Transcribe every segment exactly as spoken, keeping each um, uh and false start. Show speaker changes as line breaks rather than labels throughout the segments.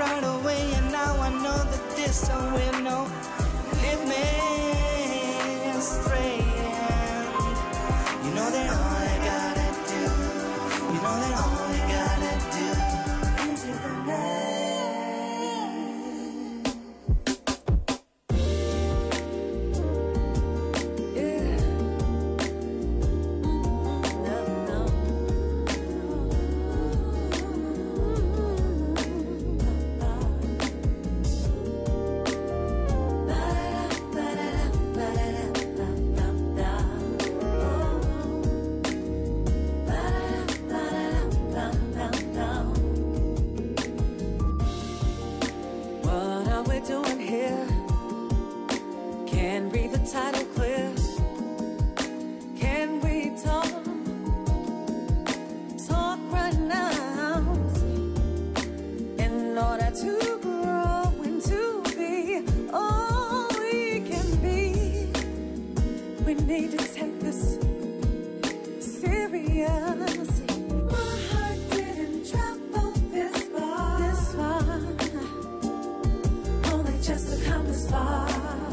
right away, and now I know that this song will know. Lead me astray, and you know that all I gotta do, you know that all I gotta do into the night.
Title clear. Can we talk? Talk right now. In order to grow and to be all we can be, we need to take this serious. My heart didn't travel this far, this far, only just to come this far.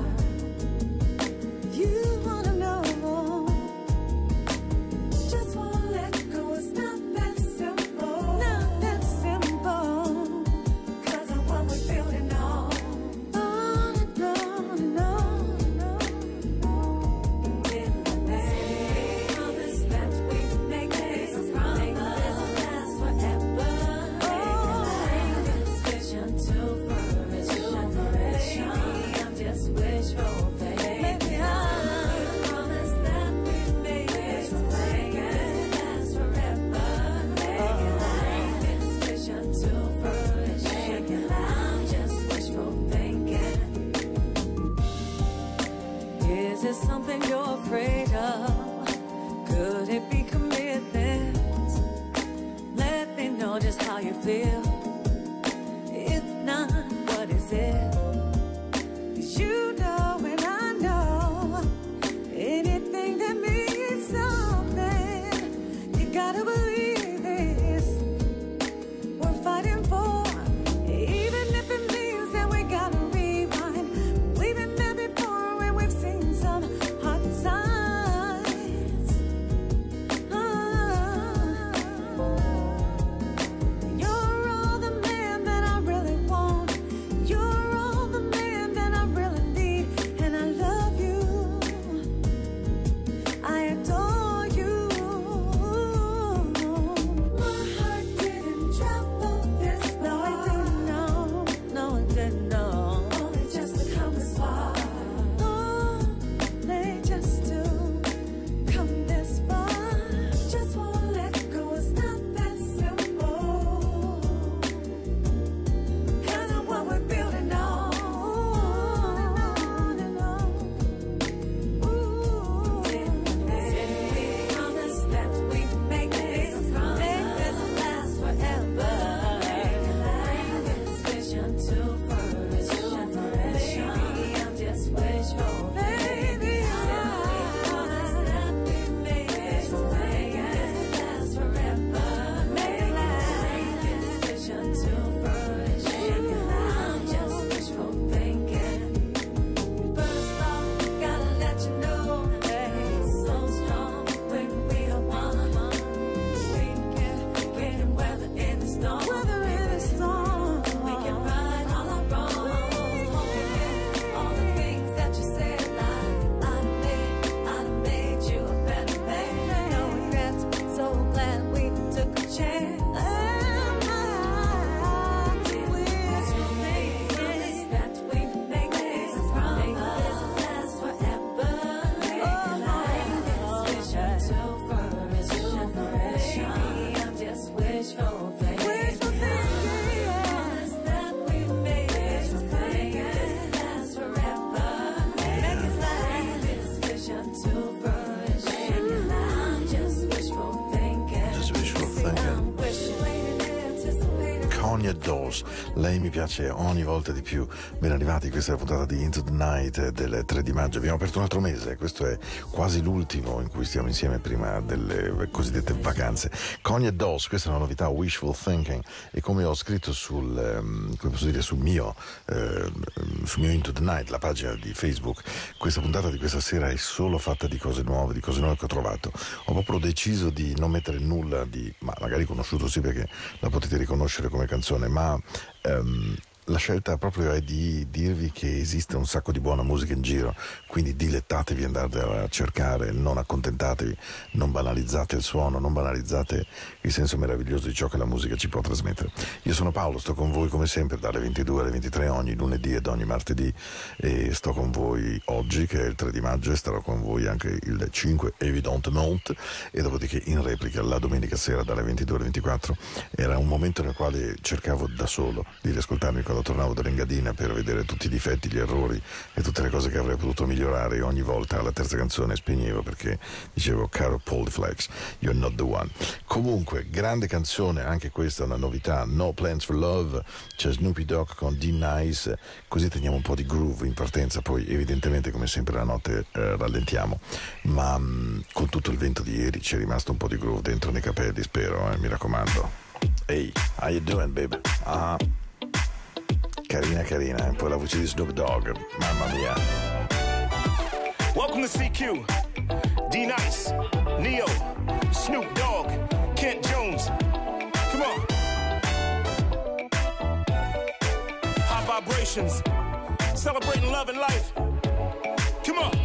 Is it something you're afraid of? Could it be commitment? Let me know just how you feel. If not, what is it? 'Cause you know and I know anything that means something, you gotta believe this. We're fighting for, even if it means that we gotta rewind. We've been there before and we've seen some hard times. Oh, you're all
lei mi piace ogni volta di più. Ben arrivati, questa è la puntata di Into the Night del tre di maggio. Abbiamo aperto un altro mese, questo è quasi l'ultimo in cui stiamo insieme prima delle cosiddette vacanze. Connie e Dolls, questa è una novità, Wishful Thinking, e come ho scritto sul, um, come posso dire, sul mio, uh, sul mio Into the Night, la pagina di Facebook, questa puntata di questa sera è solo fatta di cose nuove, di cose nuove che ho trovato. Ho proprio deciso di non mettere nulla di, ma magari conosciuto sì perché la potete riconoscere come canzone, ma um, la scelta proprio è di dirvi che esiste un sacco di buona musica in giro, quindi dilettatevi, andate a cercare, non accontentatevi, non banalizzate il suono, non banalizzate il senso meraviglioso di ciò che la musica ci può trasmettere. Io sono Paolo, sto con voi come sempre dalle ventidue alle ventitré ogni lunedì ed ogni martedì, e sto con voi oggi che è il tre di maggio e starò con voi anche il cinque evidentemente, e dopodiché in replica la domenica sera dalle ventidue alle ventiquattro. Era un momento nel quale cercavo da solo di riascoltarmi quando tornavo dall'Engadina per vedere tutti i difetti, gli errori e tutte le cose che avrei potuto migliorare, e ogni volta alla terza canzone spegnevo perché dicevo: caro Paul di Flex, you're not the one. Comunque, grande canzone, anche questa è una novità, No Plans for Love, c'è Snoopy Dogg con D-Nice, così teniamo un po' di groove in partenza, poi evidentemente come sempre la notte eh, rallentiamo, ma mh, con tutto il vento di ieri c'è rimasto un po' di groove dentro nei capelli, spero, eh, mi raccomando. Hey, how you doing, baby? Ah, uh-huh. Carina carina, eh? Poi la voce di Snoop Dogg, mamma mia.
Welcome to C Q, D-Nice, Neo, Snoop Dogg, Kent Jones. Come on. High vibrations, celebrating love and life. Come on.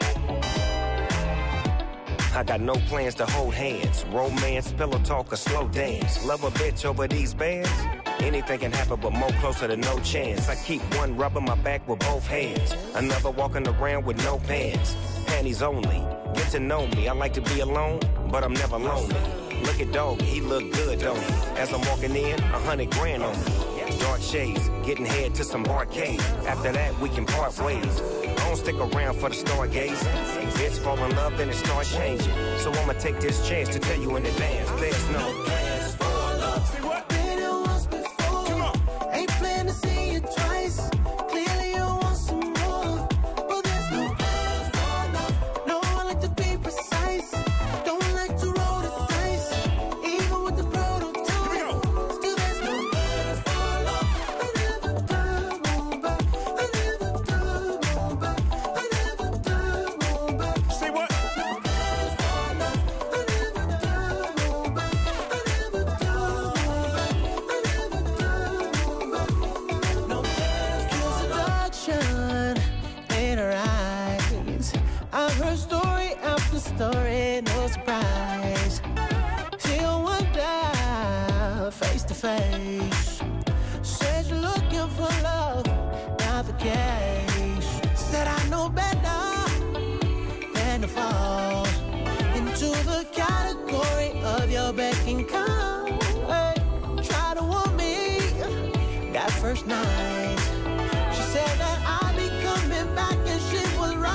I got no plans to hold hands, romance, pillow talk, or slow dance. Love a bitch over these bands? Anything can happen, but more closer to no chance. I keep one rubbing my back with both hands, another walking around with no pants. Panties only, get to know me. I like to be alone, but I'm never lonely. Look at Doggy, he look good, don't he? As I'm walking in, a hundred grand on me. Dark shades, getting head to some arcades. After that, we can part ways. I don't stick around for the stargaze. Bitch fall in love, then it starts changing. So I'ma take this chance to tell you in advance, there's no plans for love.
See what?
Story, no surprise. Till one day, face to face, said you're looking for love, not the case. Said I know better than to fall into the category of your beck and call. Hey, try to want me that first night. She said that I'd be coming back and she was right.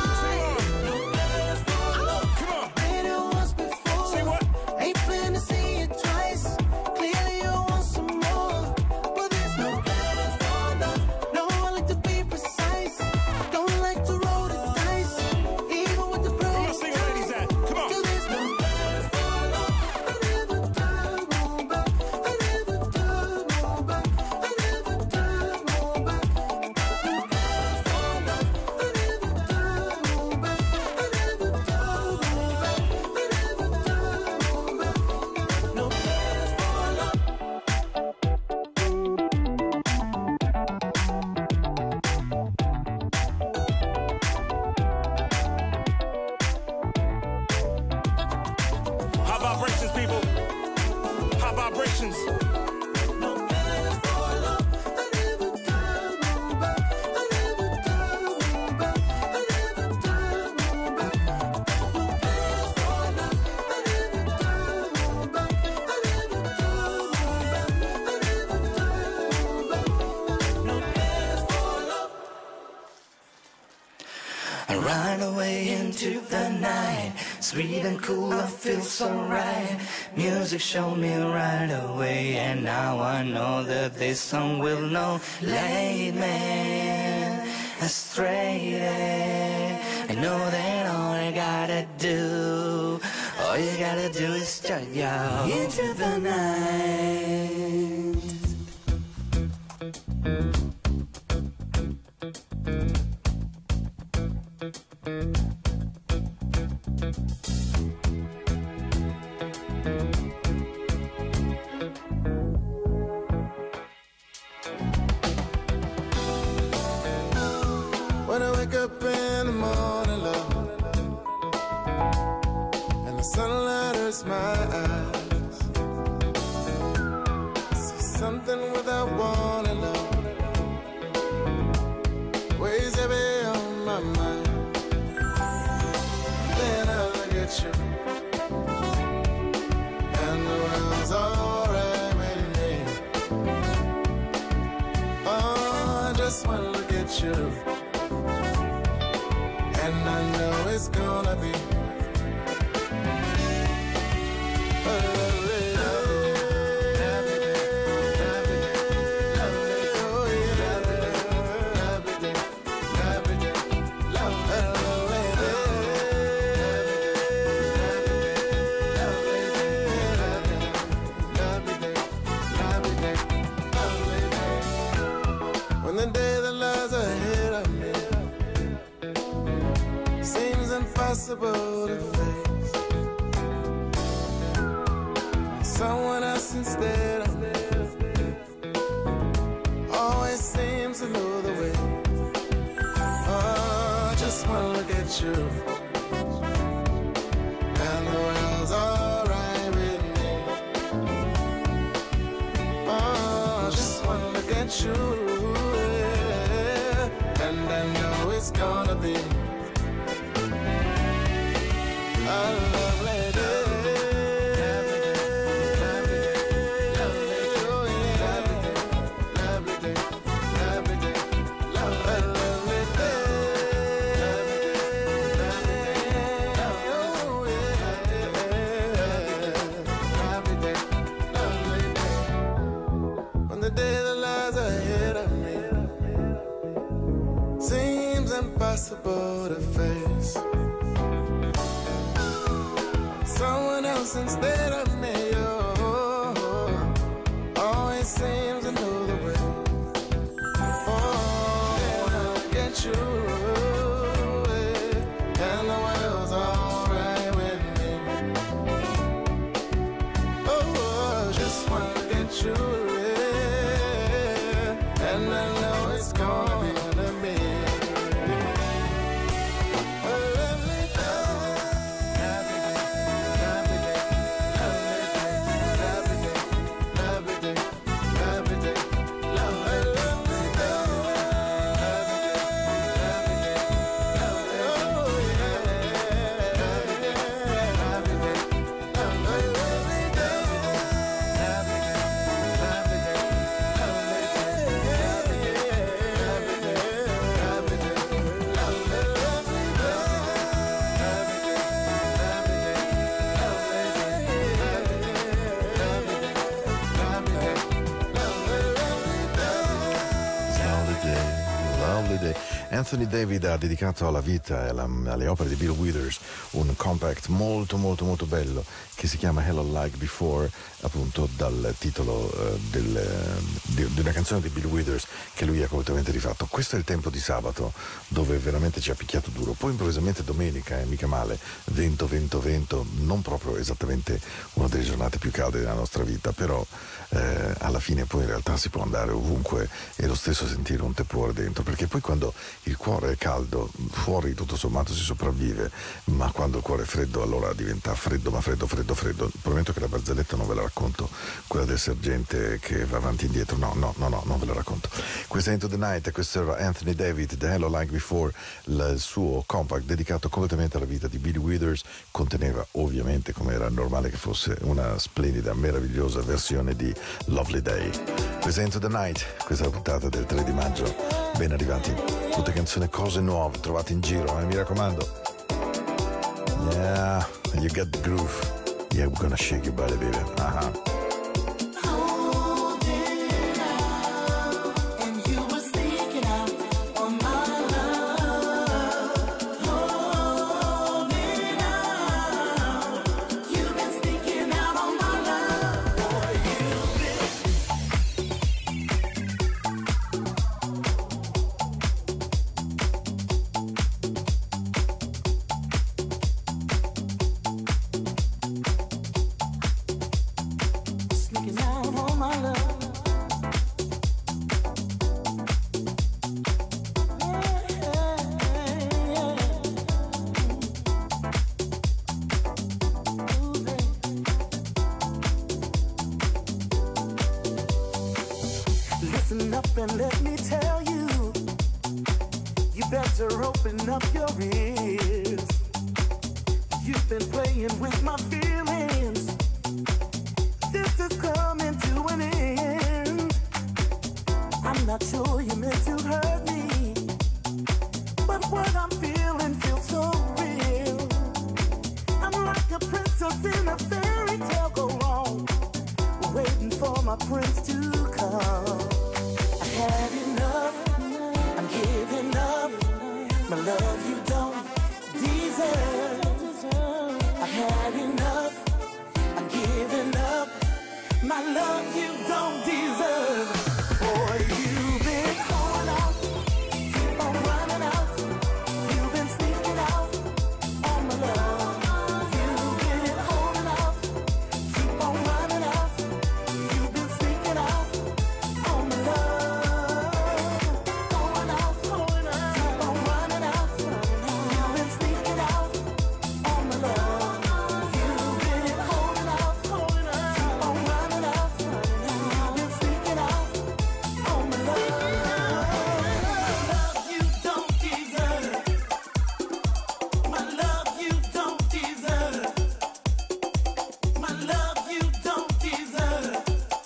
I ride away into the night. Sweet and cool, I feel so right. Music showed me right away, and now I know that this song will know. Lead me astray. I know that all I gotta do, all you gotta do is turn you into the night.
When I wake up in the morning, love, and the sunlight hurts my eyes, see something without warning, love, weighs heavy on my mind. Then I look at you, and the world's alright with me. Oh, I just wanna look at you, and I know it's gonna be a lovely day. Lovely day, lovely day, lovely day, oh yeah, lovely day, lovely day, lovely day, lovely day, lovely day, lovely day, lovely day. When the day that lies ahead of me seems impossible to face, and someone else instead of me always seems to know the way. Oh, I just wanna look at you, and the world's alright with me. Oh, I just wanna look at you, yeah, and I know it's gonna be a lovely day. Lovely day, lovely day, oh yeah, lovely day, lovely day, lovely day, lovely day, oh yeah, lovely day, lovely day. When the day that lies ahead of me seems impossible to face, someone else instead of me, oh, always seems to know the way. Oh, when I look at you, yeah, and the world's alright with me. Oh, just wanna look at you, yeah, and I know it's gonna be a lovely day.
Anthony David ha dedicato alla vita e alla, alle opere di Bill Withers un compact molto molto molto bello che si chiama Hello Like Before, appunto dal titolo uh, del, di, di una canzone di Bill Withers che lui ha completamente rifatto. Questo è il tempo di sabato dove veramente ci ha picchiato duro, poi improvvisamente domenica, e eh, mica male, vento vento vento, non proprio esattamente una delle giornate più calde della nostra vita, però eh, alla fine poi in realtà si può andare ovunque e lo stesso sentire un tepore dentro, perché poi quando il cuore è caldo fuori tutto sommato si sopravvive, ma quando il cuore è freddo allora diventa freddo, ma freddo freddo freddo. Prometto che la barzelletta non ve la racconto, quella del sergente che va avanti e indietro, no no no no non ve la racconto. Questa è Into the Night e questo era Anthony David, The Hello Like Before, il suo compact dedicato completamente alla vita di Bill Withers. Conteneva ovviamente, come era normale che fosse, una splendida, meravigliosa versione di Lovely Day. Questa è Into the Night, questa è la puntata del tre di maggio Ben arrivati, tutte canzoni, cose nuove trovate in giro, eh, mi raccomando. Yeah, you got the groove. Yeah, we're gonna shake your body, baby. Uh-huh.
Listen up and let me tell you, you better open up your ears. You've been playing with my feelings. This is coming to an end. I'm not sure you meant to hurt me, but what I'm feeling feels so real. I'm like a princess in a fairy tale go wrong, waiting for my prince to come. I had enough, I'm giving up. My love you don't deserve. I've had enough, I'm giving up. My love you don't deserve. Boy, you've been going out, keep on running out. You've been sneaking out on my love. You've been holding out, keep on running out. You've been sneaking out on my love. Going out, going out, keep on running out. You've been sneaking out on my love. You've been holding out, holding out, keep on running out. You've been sneaking out on my love. Love you don't deserve. My love you don't deserve. My love you don't deserve.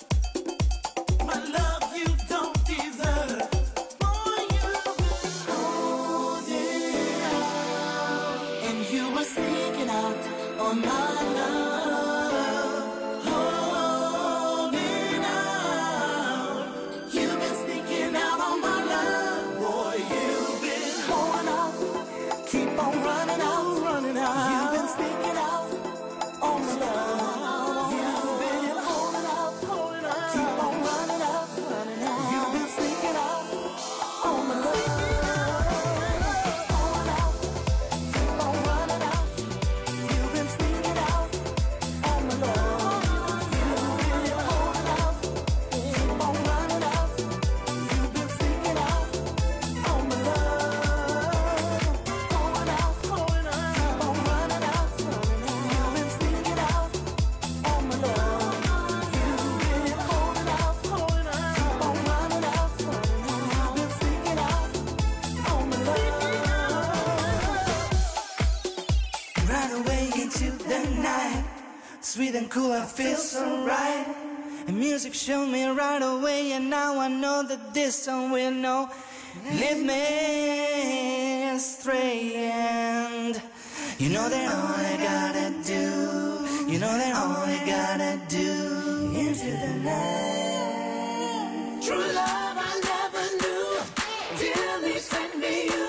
My love you don't deserve. Boy, you've been holding out, and you were sneaking out on my love. Holding out, you've been sneaking out on my love. Boy, you've been holding out, keep on running out, running out. You've been sneaking out on my love. You've been holding out, holding out, keep on running out, running out. You've been sneaking out on my love. Holding out, keep on running out. You've been sneaking out on my love. You've been holding out, keep on running out. You've been sneaking out on my love. Going out, going out, keep on running out, running out. You've been sneaking out on my love. You've been holding out, holding out, keep on running out, running out. You've been sneaking out on my love.
Right away into the night, sweet and cool, I feel so right. And music showed me right away, and now I know that this song will know. Lead me astray, and you know that all I gotta do, you know that all I gotta do into the night.
True love I never knew, dearly sent me you.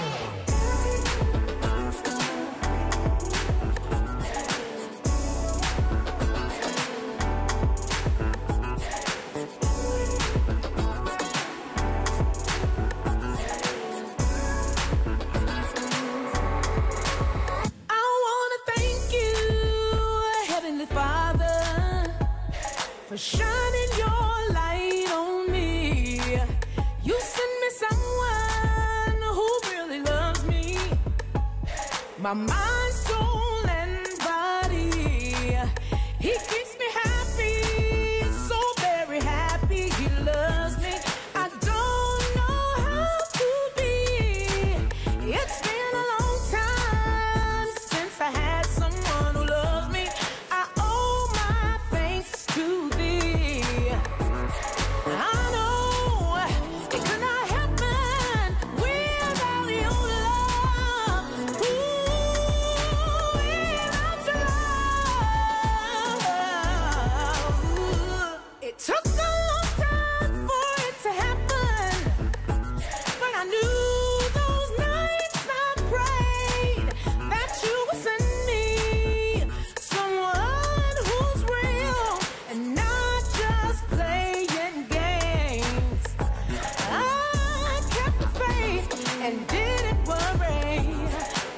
I wanna thank you, Heavenly Father, for shining your light on me. You sent me someone who really loves me, my mind, soul, and body. He keeps me happy, so very happy. He loves me. I don't know how to be. It's been a long time since I had someone who loves me. I owe my thanks to thee. I know it could not happen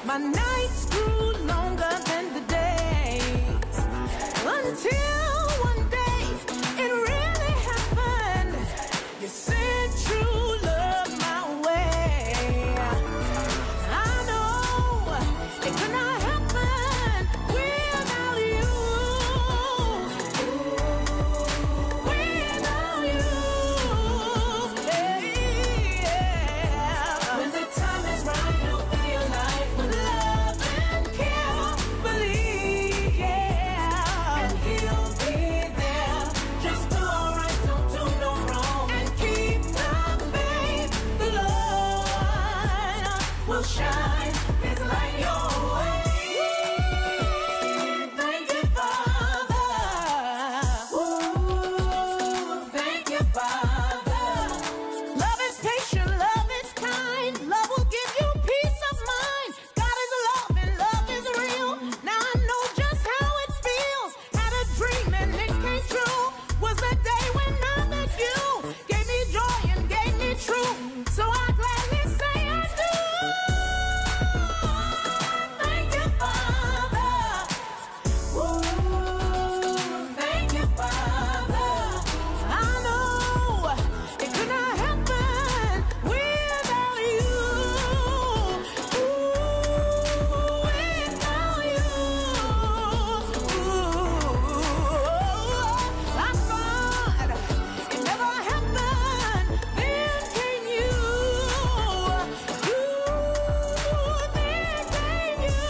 My nights grew longer than the days, until one day it really happened. You sent true love my way. I know it could not happen without you. Without you. Yeah. When the time is right, you'll feel like with love and care. Believe, yeah. And he'll be there. Just do alright, don't do no wrong. And keep the faith. The Lord will shine his light your way. Thank you, Father. Ooh, thank you, Father. Love is patient, love is kind. Love will give you peace of mind. God is love and love is real. Now I know just how it feels. Had a dream and it came true. Was the day when I met you. Gave me joy and gave me truth. So I gladly say I do. Thank you, Father. Ooh, thank you, Father. I know it could not happen without you. Ooh, without you. Ooh, I thought it never happened. Then came you. Ooh, then came you.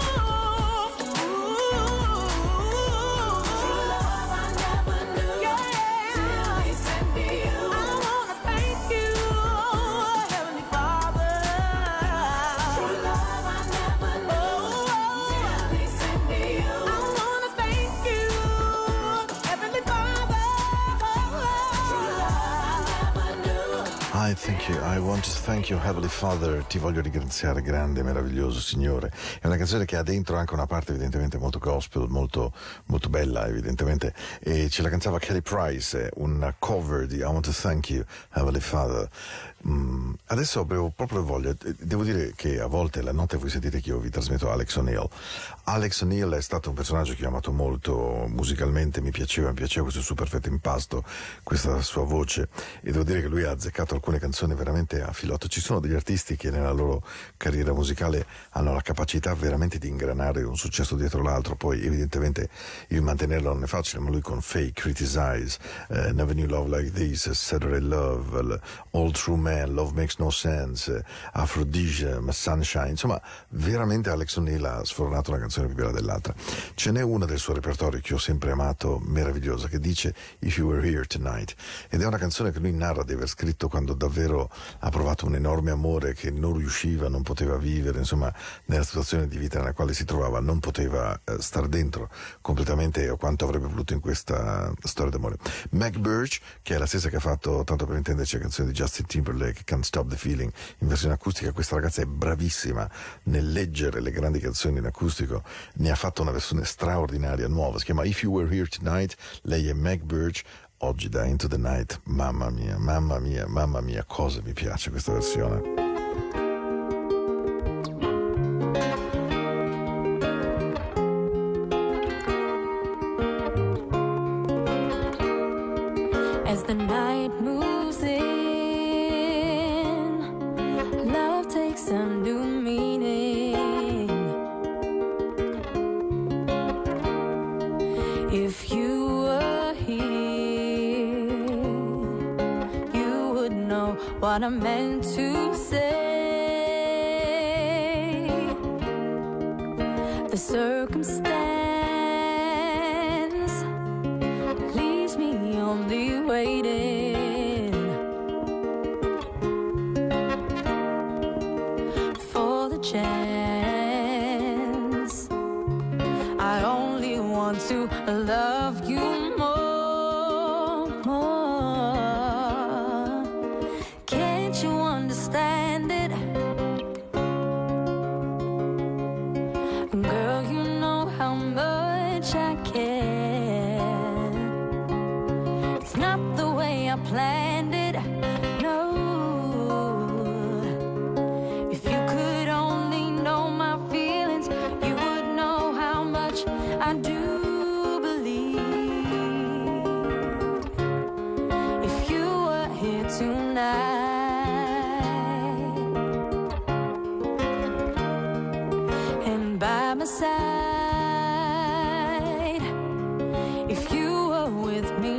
True love I never knew. Till he sent me you. I wanna thank you, Heavenly Father. True love I never knew. Till he sent me you. I wanna thank you, Heavenly Father. True love I never knew.
I thank you, I want to thank you Heavenly Father, ti voglio ringraziare grande, meraviglioso Signore. È una canzone che ha dentro anche una parte evidentemente molto gospel, molto, molto bella evidentemente, e ce la cantava Kelly Price, un cover di I Want to Thank You Heavenly Father. Mm, adesso avevo proprio voglia, devo dire che a volte la notte voi sentite che io vi trasmetto Alex O'Neill. Alex O'Neill è stato un personaggio che ho amato molto musicalmente, mi piaceva, mi piaceva questo suo perfetto impasto, questa sua voce, e devo dire che lui ha azzeccato alcune canzoni veramente a filotto. Ci sono degli artisti che nella loro carriera musicale hanno la capacità veramente di ingranare un successo dietro l'altro, poi evidentemente il mantenerlo non è facile, ma lui con Fake, Criticize, uh, Never Knew Love Like This, Saturday Love, All True Man, Love Makes No Sense, Aphrodisiac, Sunshine, insomma veramente Alex O'Neill ha sfornato una canzone più bella dell'altra. Ce n'è una del suo repertorio che ho sempre amato, meravigliosa, che dice If You Were Here Tonight, ed è una canzone che lui narra di aver scritto quando davvero ha provato un enorme amore che non riusciva, non poteva vivere, insomma nella situazione di vita nella quale si trovava non poteva eh, star dentro completamente a quanto avrebbe voluto in questa storia d'amore. Meg Birch, che è la stessa che ha fatto, tanto per intenderci, la canzone di Justin Timberlake, Can't Stop the Feeling, in versione acustica. Questa ragazza è bravissima nel leggere le grandi canzoni in acustico, ne ha fatto una versione straordinaria, nuova, si chiama If You Were Here Tonight. Lei è Meg Birch, oggi da Into the Night. Mamma mia, mamma mia, mamma mia, cosa mi piace questa versione.
As the night moves in, love takes on new meaning. If you were here, you would know what I meant to say. The circumstance leaves me only waiting for the chance. I only want to love you more, more. Can't you understand it? Girl, you know how much I care. It's not the way I planned it, no. If you could only know my feelings. by my side if you were with me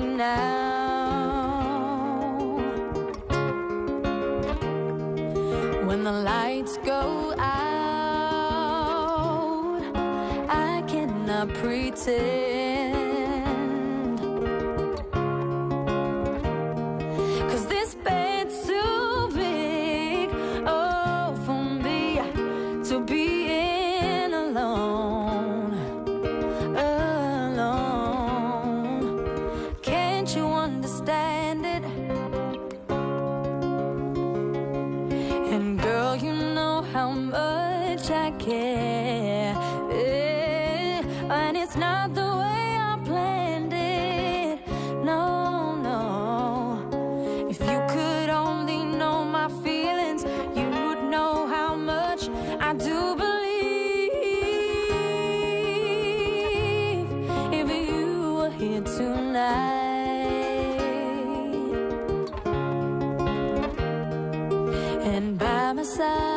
now. When the lights go out, I cannot pretend, 'cause this bed's too big, oh, for me to be in alone, alone. Can't you understand it? And girl, you know how much I care, eh, and it's not the way I planned it, no, no. If you could only know my feelings, you would know how much I do believe. If you were here tonight and by my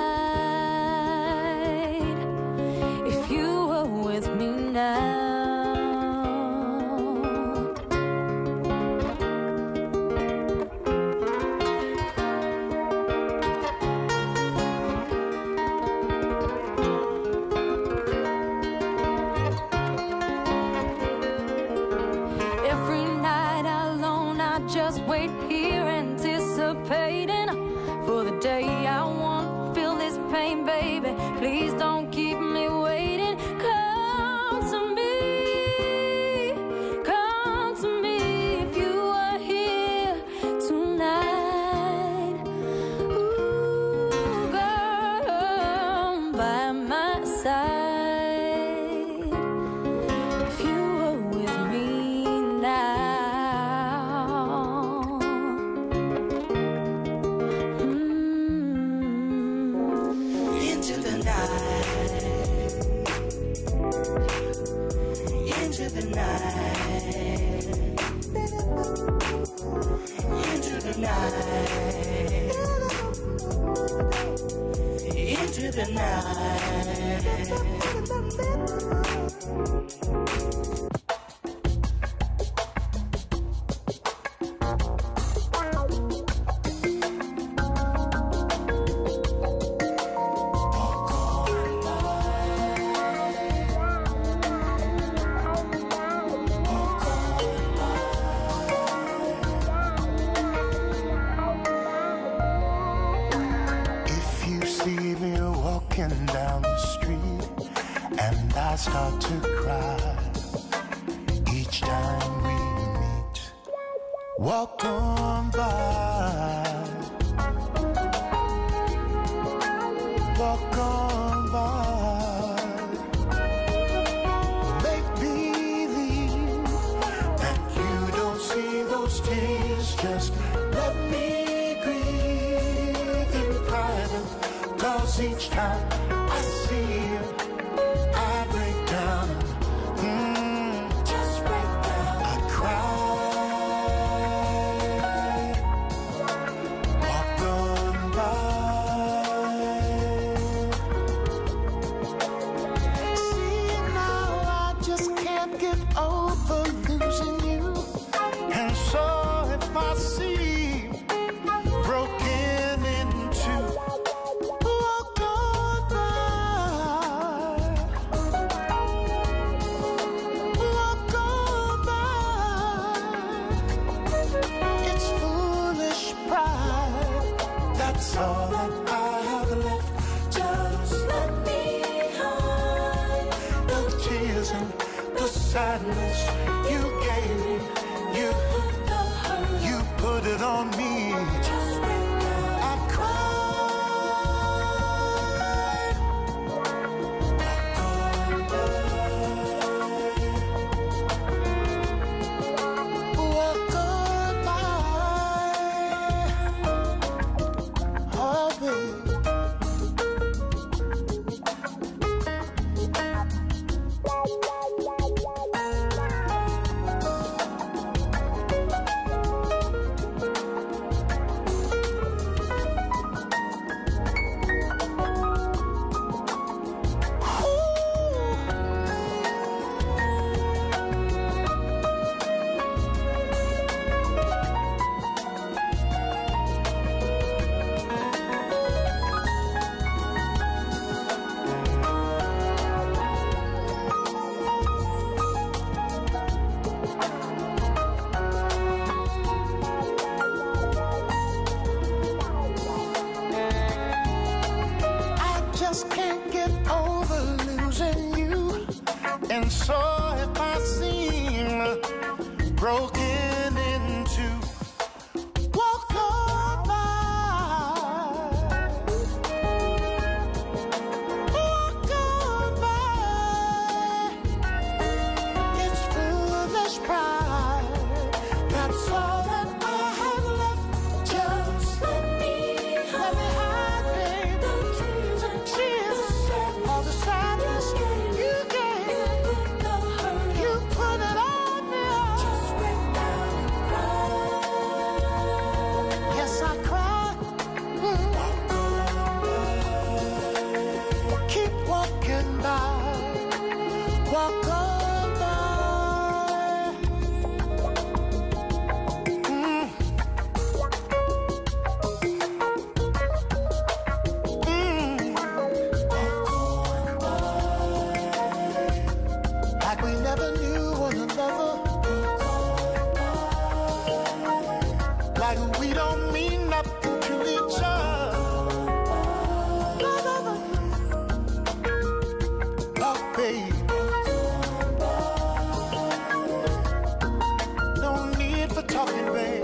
side, if you were with me now. Every night alone, I just wait here anticipating for the day I won't feel this pain, baby. Please don't keep me waiting. Come to me, come to me if you are here tonight. Ooh, girl, by my side, if you were with me now.
Into the night, into the night, into the night, into the night.
If you see me walking down the street and I start to cry each time we meet, walk on by, walk on by, make believe that you don't see those tears, just let me grieve in private, 'cause each time I see you, I break down, mm, just break down, I cry, walk on by. See now, I just can't get over losing you, and so if I see broken into, walk on by, walk on by. It's foolish pride, that's all that I have left. Just let me hide the tears and the sadness you gave me. You, you put it on me. I cried. Walk on by. Oh, baby. And so if I seem broken into, walk on by, walk on by. It's foolish pride, that's all that I have left. Just let me let me hide, babe. The tears and tears, all the sadness you gave, you put it on me. Just break down and cry. Yes, I cry. Mm. Keep walking by, walk on by. Mm. Mm. Like we never knew one another, like we don't mean nothing to each other. Oh, babe, no need for talking, babe.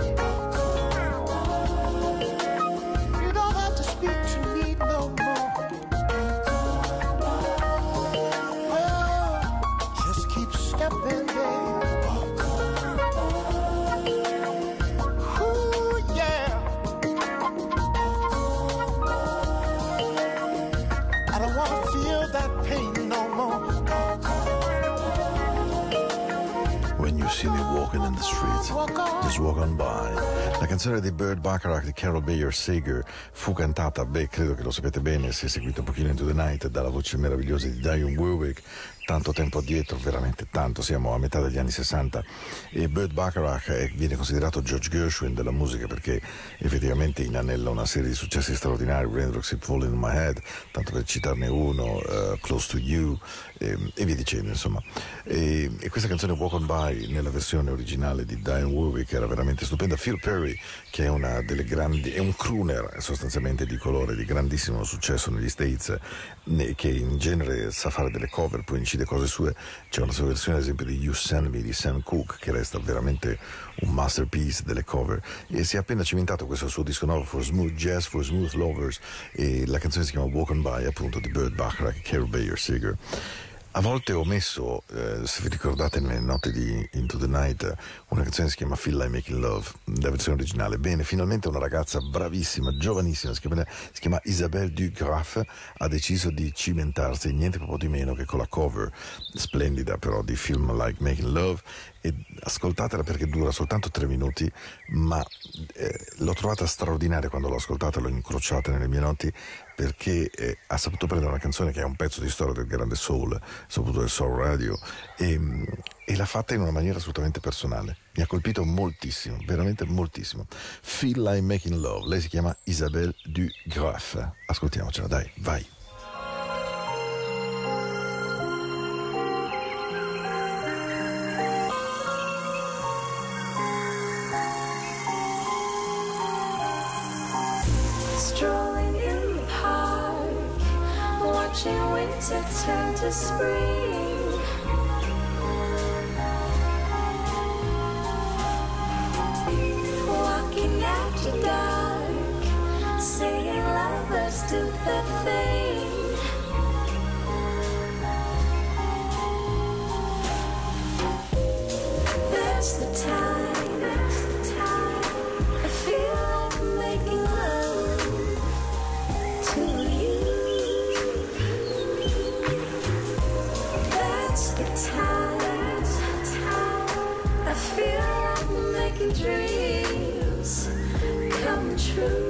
You don't have to speak to me no more. Oh, just keep stepping, babe. Ooh, yeah. I don't want to feel that pain no more.
When you see me walking in the streets,
Walk on.
just walk on by. La canzone di Burt Bacharach di Carol Bayer Sager fu cantata, beh, credo che lo sapete bene se seguite un pochino Into the Night, dalla voce meravigliosa di Dionne Warwick, tanto tempo addietro, veramente tanto, siamo a metà degli anni sessanta, e Burt Bacharach è- viene considerato George Gershwin della musica perché effettivamente inanella una serie di successi straordinari, Raindrops Keep Falling on My Head, tanto per citarne uno, uh, Close to You, e, e via dicendo, insomma. E, e questa canzone Walk on By nella versione originale di Dionne Warwick era veramente stupenda. Phil Perry, che è una delle grandi, è un crooner sostanzialmente di colore di grandissimo successo negli States, ne- che in genere sa fare delle cover, poi incide cose sue. C'è una sua versione ad esempio di You Send Me di Sam Cooke che resta veramente un masterpiece delle cover, e si è appena cimentato questo suo disco nuovo For Smooth Jazz, For Smooth Lovers, e la canzone si chiama Walk on By, appunto, di Burt Bacharach e Carol Bayer Sager. A volte ho messo, eh, se vi ricordate nelle note di Into the Night, una canzone che si chiama Feel Like Making Love, la versione originale. Bene, finalmente una ragazza bravissima, giovanissima, si chiama, si chiama Isabelle Dugraff, ha deciso di cimentarsi niente proprio di meno che con la cover splendida però di Feel Like Making Love, e ascoltatela perché dura soltanto tre minuti, ma eh, l'ho trovata straordinaria quando l'ho ascoltata, l'ho incrociata nelle mie notti, perché eh, ha saputo prendere una canzone che è un pezzo di storia del grande soul, soprattutto del soul radio, e, e l'ha fatta in una maniera assolutamente personale. Mi ha colpito moltissimo, veramente moltissimo. Feel Like Making Love, lei si chiama Isabelle Dugraff. Ascoltiamocela, dai, vai.
Strolling in the park, watching winter turn to spring. Walking after dark, seeing lovers do their thing. There's the time, there's the time. I feel like making love to you. That's the time, that's the time. I feel like making dreams come true.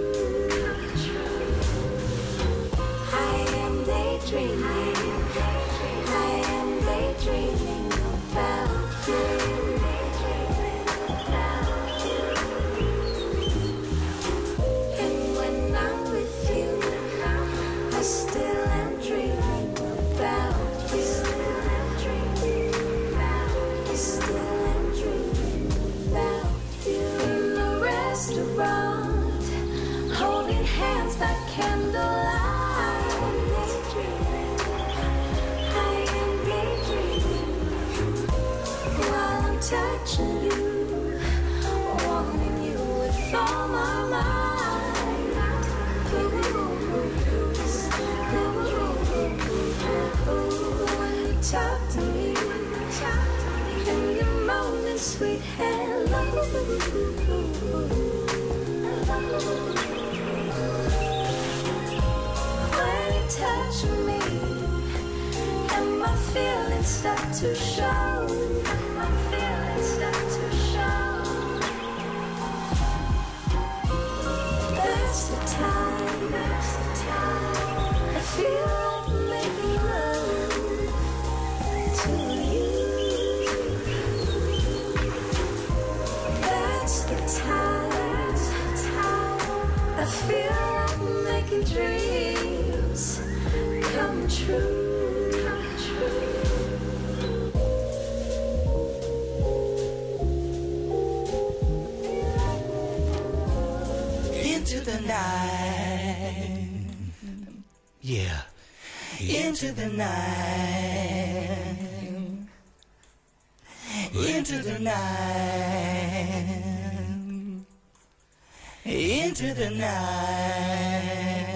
I am daydreaming, I am daydreaming about you. And when I'm with you, I still am dreaming about you. I still am dreaming about you. In the restaurant, holding hands by candlelight. sweet hello. When you touch me and my feelings start to show, my feelings start to show. That's the time, that's the time I feel like making love to you. That's the time, that's the time I feel like making dreams come true, come true.
Into the night, yeah, into the night, into the night, into the night.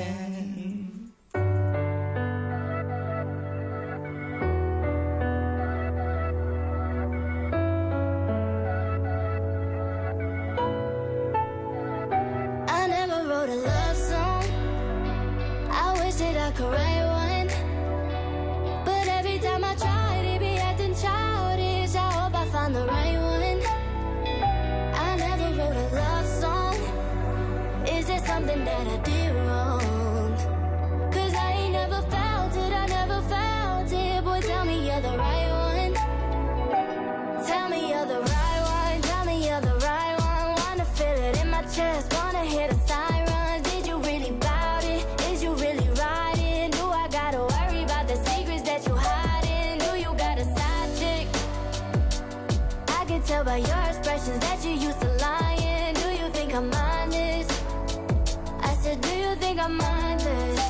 I never wrote a love song. I wish that I could write one, but every time I tried, it be acting childish. I hope I find the right one. I never wrote a love song. Is there something that I did wrong? 'Cause I ain't never felt it, I never felt it. Boy, tell me you're the right one. Tell me you're the right one. Tell me you're the right one. Wanna feel it in my chest, wanna hear the sirens. Did you really bout it? Is you really riding? Do I gotta worry about the secrets that you hiding? Do you got a side chick? I can tell by your expressions that you used to lying. Do you think I'm honest? I said, do you think I'm honest?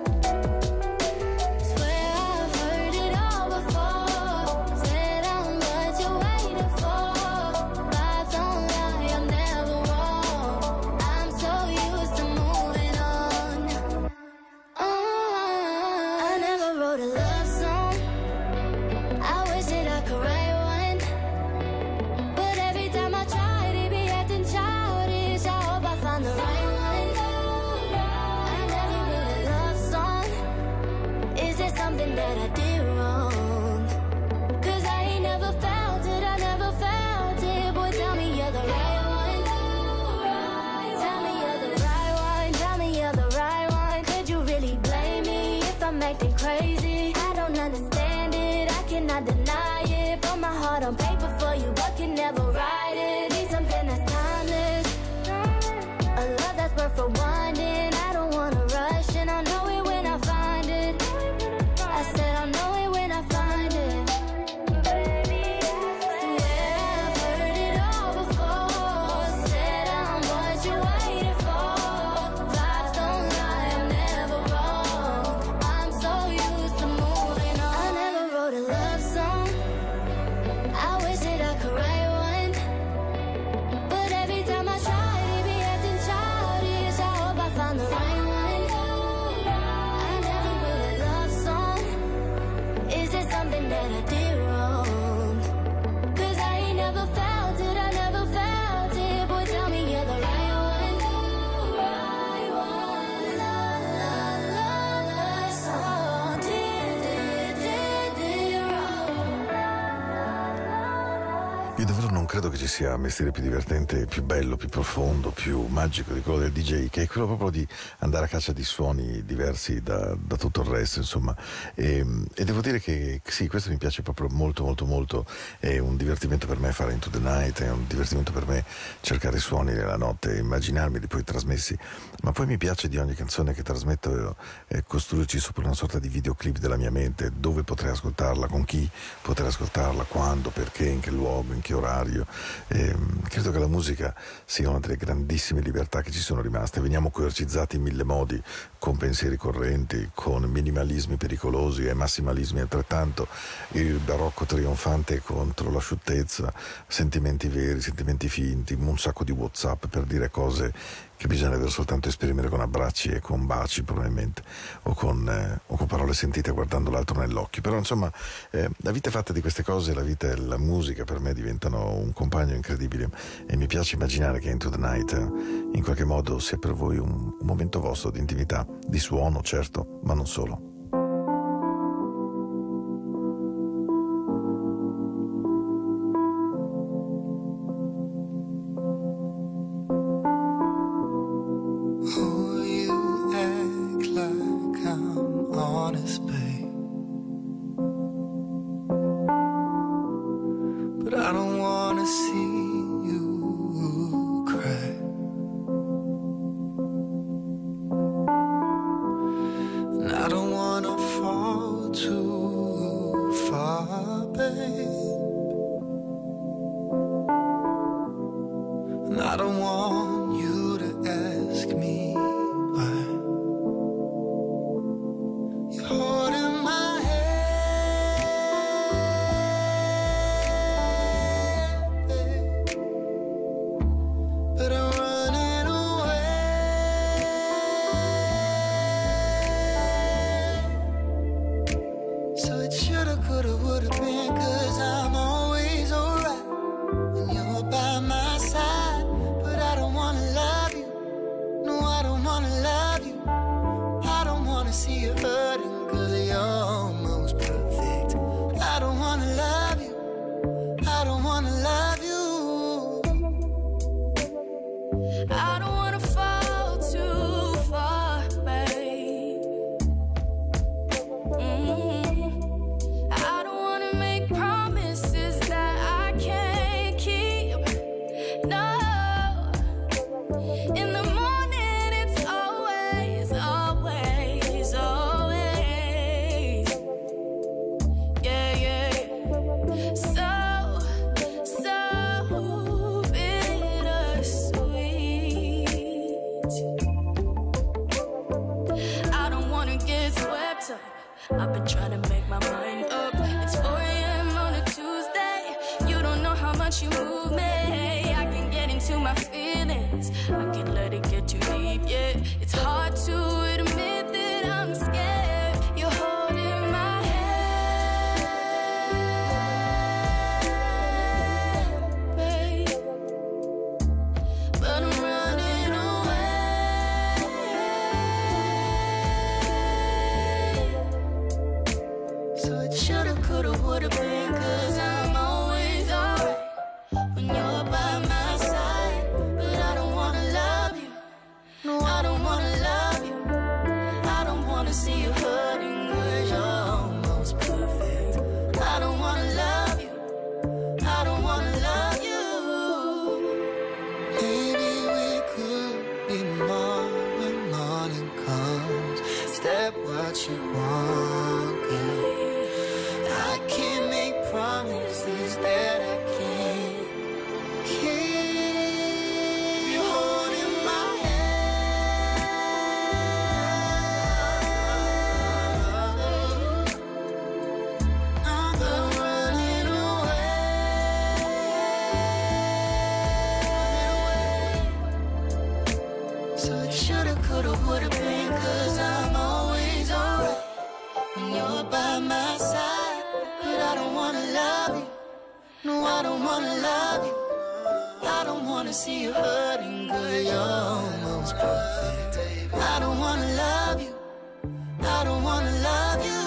Swear I've heard it all before. Said I'm what you're waiting for. Vibes don't lie, I'm never wrong. I'm so used to moving on. Uh, I never wrote a love song. I wish that I could write one, but every time I tried, it be acting childish. I hope I find the right one. I never wrote a love song. Is there something that I did wrong? 'Cause I ain't never felt it, I never felt it. Boy, tell me you're the right one. Tell me you're the right one. Tell me you're the right one. Could you really blame me if I'm acting crazy? I don't understand it, I cannot deny it. Put my heart on paper for you, but can never write it. Need something that's timeless, a love that's worth for wanting. I don't wanna rush, and I'll know it when I find it. I said I'll know it when I find it. Swear I've heard it all before. Said I'm what you're waiting for. Vibes don't lie, I'm never wrong. I'm so used to moving on. I never wrote a love song. I wish that I could write one, but every time I tried, it be acting childish. I hope I find the right one. I never wrote a love song. Is there something that I did wrong? 'Cause I ain't never felt it, I never felt it. Boy, tell me you're the right one. Right one. La, la, la, la, song. Did, did, did, did wrong.
Io davvero non credo che ci sia mestiere più divertente, più bello, più profondo, più magico di quello del D J, che è quello proprio di andare a caccia di suoni diversi da, da tutto il resto, insomma. E, e devo dire che sì, questo mi piace proprio molto molto molto. È un divertimento per me fare Into the Night, è un divertimento per me cercare suoni nella notte e immaginarmeli poi trasmessi. Ma poi mi piace di ogni canzone che trasmetto eh, costruirci sopra una sorta di videoclip della mia mente, dove potrei ascoltarla, con chi potrei ascoltarla, quando, perché, in che luogo, in che orario. E, credo che la musica sia una delle grandissime libertà che ci sono rimaste. Veniamo coercizzati in mille modi, con pensieri correnti, con minimalismi pericolosi e massimalismi altrettanto, il barocco trionfante contro l'asciuttezza, sentimenti veri, sentimenti finti, un sacco di WhatsApp per dire cose che bisognerebbe soltanto esprimere con abbracci e con baci probabilmente, o con, eh, o con parole sentite guardando l'altro nell'occhio. Però insomma eh, la vita è fatta di queste cose, la vita e la musica per me diventano un compagno incredibile, e mi piace immaginare che Into the Night eh, in qualche modo sia per voi un, un momento vostro di intimità, di suono certo, ma non solo.
I've been trying to make my mind up. It's four a.m. on a Tuesday. You don't know how much you move me. I can get into my feelings. I can let it get too deep, yeah. It's hard to admit that I'm scared. You're holding my hand, babe, but I'm running away. So it shoulda, coulda, woulda been, 'cause I'm always alright when you're by my side. But I don't wanna love you, no, I don't wanna love you. I don't wanna see you hurting, 'cause you're almost perfect. I don't wanna love you, I don't wanna love you.
Maybe we could be more when morning comes. Step what you want, girl. I can't make promises that I can't keep. You holding my hand. I'm running away. So it shoulda, coulda, woulda been, 'cause I'm always alright when you're by my side. But I don't wanna love you, no, I don't wanna love you. I don't wanna see you hurting, 'cause you're almost perfect. I don't wanna love you, I don't wanna love you.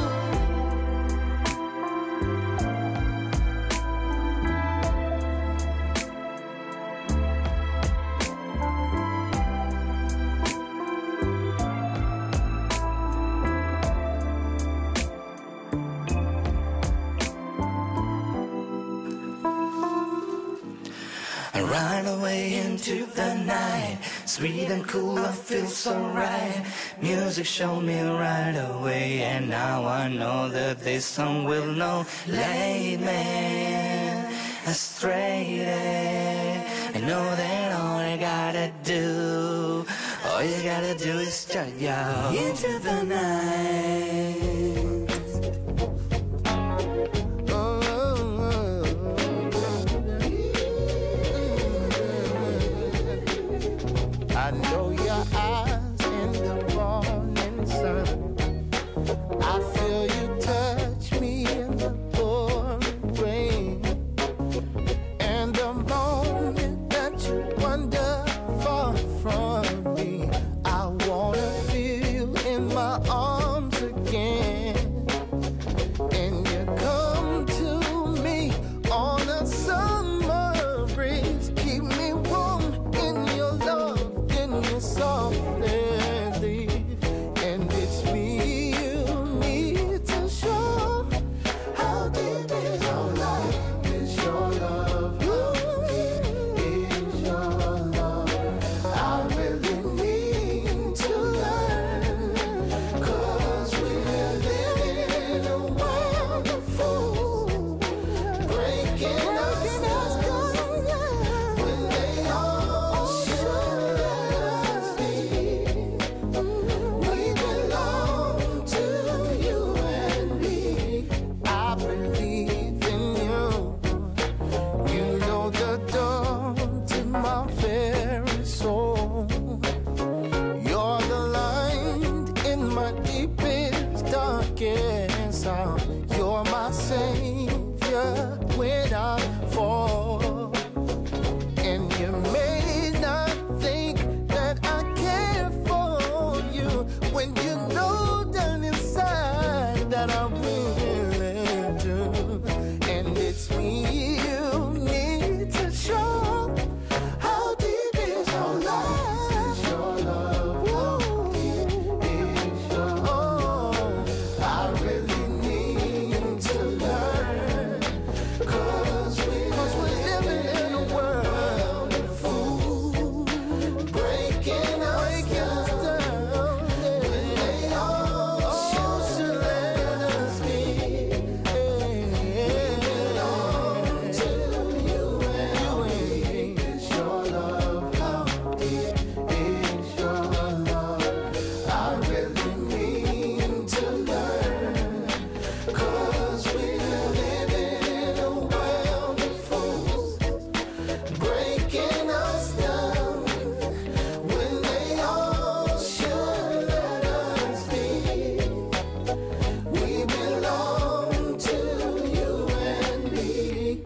I ride away into the night, sweet and cool, I feel so right. Music showed me right away, and now I know that this song will know. Lead me astray, I know that all I gotta do, all you gotta do is start out into the night.
broken sound. You're my savior when I fall, and you may not think that I care for you when you know down inside that I really do. And it's me you need to show. How deep is your love? Your love, how deep is your love? I really need to learn, 'cause we, 'cause we're living in a world of fools, breaking us down. When they all choose to let us be, we belong to you and me. Is your love, how deep is your love? I really need to learn, 'cause we're living in a world of fools, breaking us down. When they all should let us be, we belong to you and me.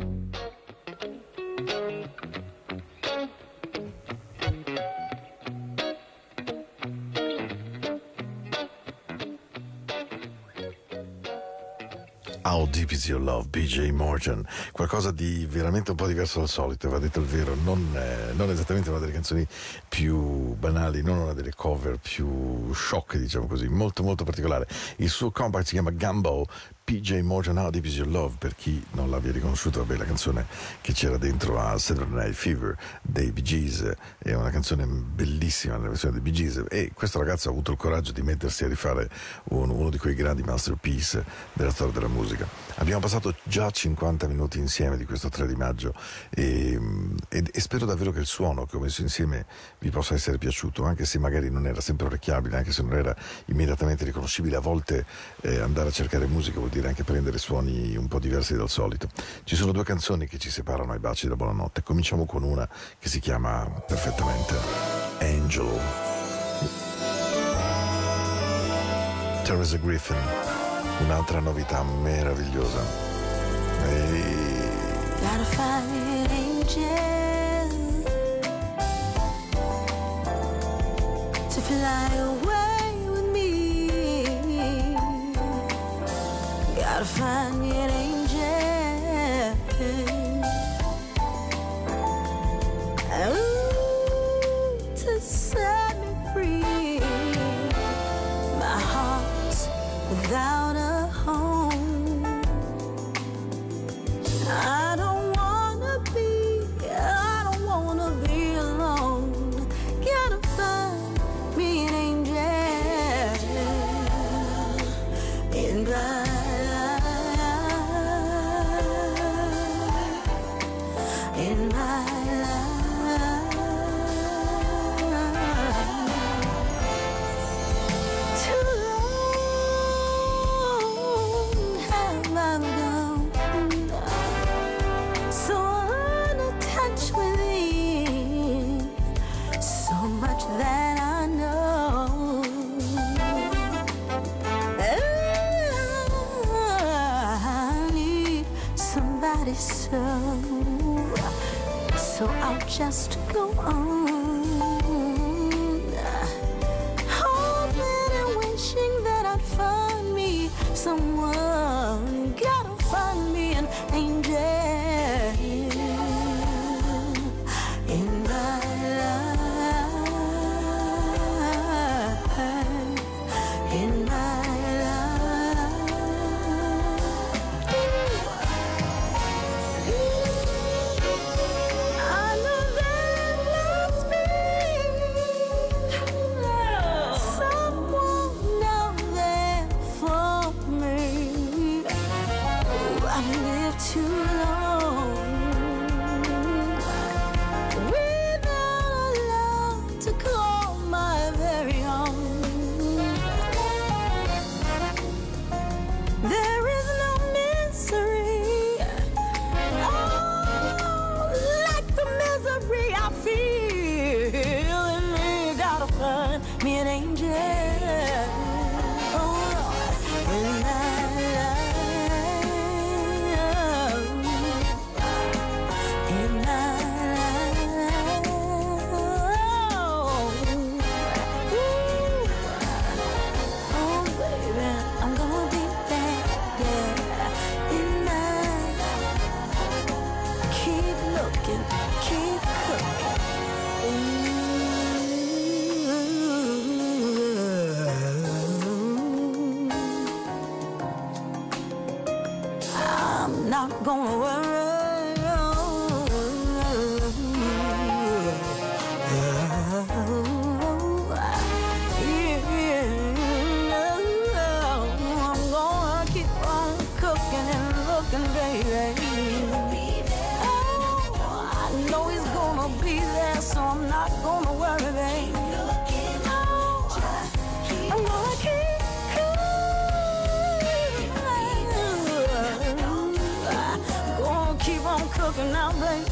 How Deep Is Your Love, P J Morton, qualcosa di veramente un po' diverso dal solito, va detto il vero, non, eh, non esattamente una delle canzoni più banali, non una delle cover più sciocche, diciamo così, molto molto particolare. Il suo compact si chiama Gumbo, P J Morton, How Deep Is Your Love, per chi non l'abbia riconosciuto, vabbè, la canzone che c'era dentro a Saturday Night Fever dei Bee Gees, è una canzone bellissima nella versione dei Bee Gees, e questo ragazzo ha avuto il coraggio di mettersi a rifare un, uno di quei grandi masterpiece della storia della musica. Abbiamo passato già cinquanta minuti insieme di questo tre di maggio e, e, e spero davvero che il suono che ho messo insieme vi possa essere piaciuto, anche se magari non era sempre orecchiabile, anche se non era immediatamente riconoscibile. A volte eh, andare a cercare musica vuol dire anche prendere suoni un po' diversi dal solito. Ci sono due canzoni che ci separano ai baci della buonanotte. Cominciamo con una che si chiama perfettamente Angel, Teresa Griffin, un'altra novità meravigliosa. E...
Gotta find an angel to fly away with me. Gotta find me an angel, ooh, to set me free. My heart's without a home. I don't wanna be, I don't wanna be alone. Gotta find me an angel in my life, in my life. Too long have I gone, so unattached within, so much that I know. I need somebody so, so I'll just go on, hoping and wishing that I'd find me someone. Gotta find me an angel in my life, in my life. I know there must be someone out there for me. Ooh, I live to
I'm not gonna worry. I'm gonna keep on cooking and looking, baby. Oh, I know he's gonna be there, so I'm not gonna worry, baby. I'm gonna keep keep on cooking now, baby.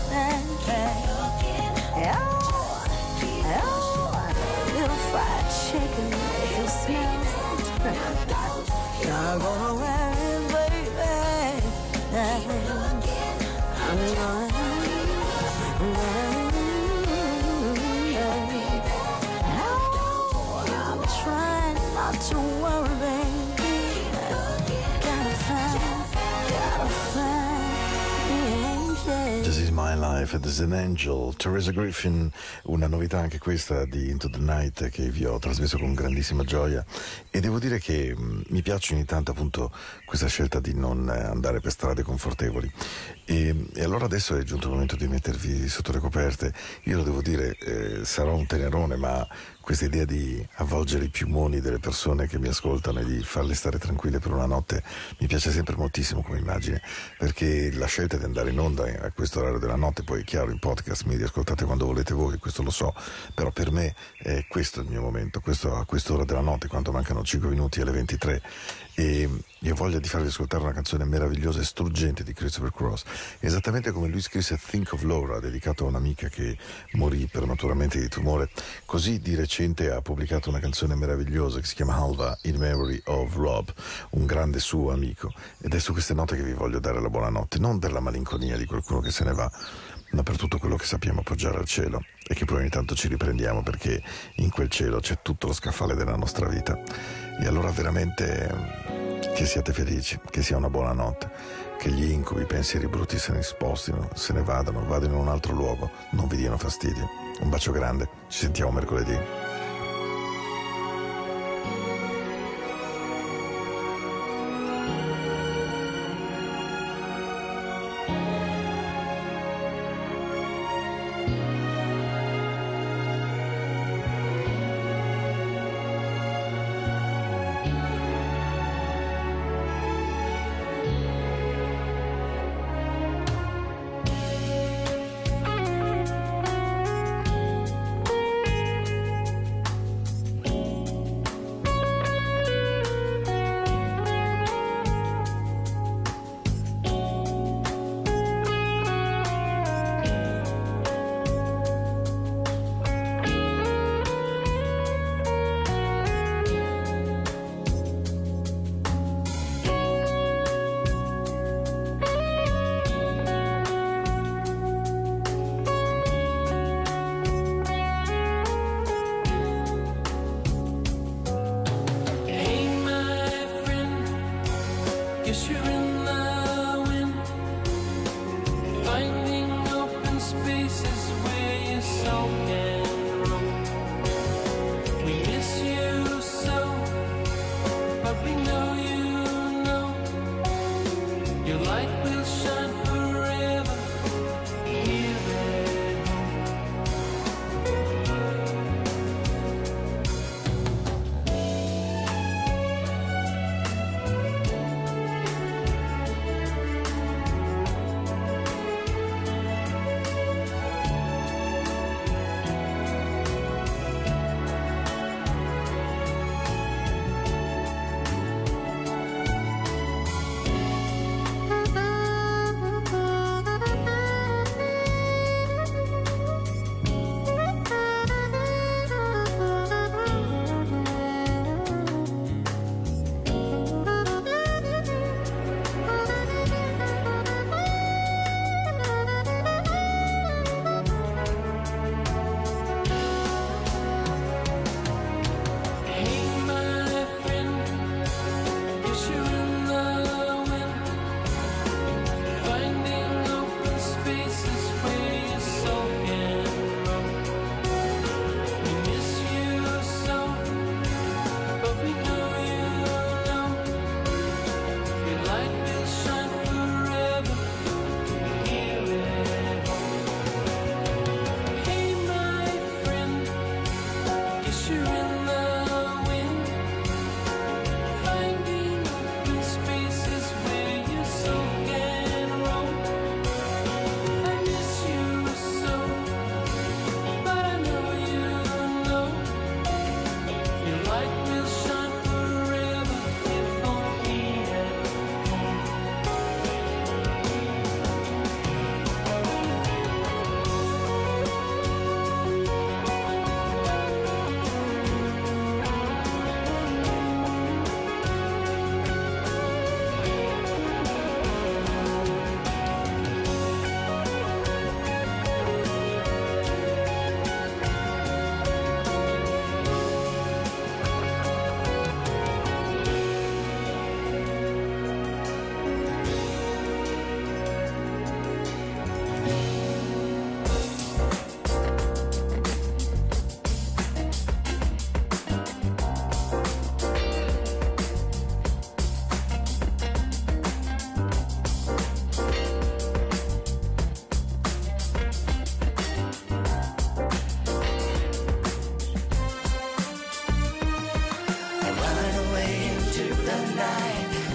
Oh, oh, little fried chicken, if you smell it. Not gonna wear it, baby. I'm gonna, oh, I'm trying not to worry, baby. Gotta find, gotta find.
This is My Life as an Angel, Teresa Griffin, una novità anche questa di Into the Night che vi ho trasmesso con grandissima gioia, e devo dire che mh, mi piace ogni tanto appunto questa scelta di non andare per strade confortevoli, e, e allora adesso è giunto il momento di mettervi sotto le coperte. Io lo devo dire, eh, sarò un tenerone, ma questa idea di avvolgere i piumoni delle persone che mi ascoltano e di farle stare tranquille per una notte mi piace sempre moltissimo come immagine, perché la scelta di andare in onda a questo orario della notte, poi è chiaro, in podcast mi riascoltate quando volete voi, questo lo so, però per me è questo il mio momento, questo a quest'ora della notte, quando mancano cinque minuti alle ventitré, e io ho voglia di farvi ascoltare una canzone meravigliosa e struggente di Christopher Cross, esattamente come lui scrisse Think of Laura, dedicato a un'amica che morì prematuramente di tumore. Così di recente ha pubblicato una canzone meravigliosa che si chiama Halva in Memory of Rob, un grande suo amico, ed è su queste note che vi voglio dare la buonanotte, non per la malinconia di qualcuno che se ne va, ma per tutto quello che sappiamo appoggiare al cielo e che poi ogni tanto ci riprendiamo, perché in quel cielo c'è tutto lo scaffale della nostra vita. E allora veramente che siate felici, che sia una buona notte, che gli incubi, i pensieri brutti se ne spostino, se ne vadano, vadano in un altro luogo, non vi diano fastidio. Un bacio grande, ci sentiamo mercoledì.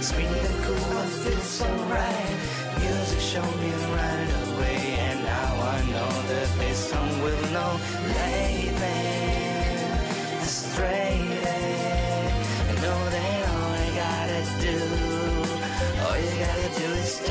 sweet and cool, I feel so right. Music showed me right away, and now I know that this song will know. Lately, straight, I know that all I gotta do, all you gotta do is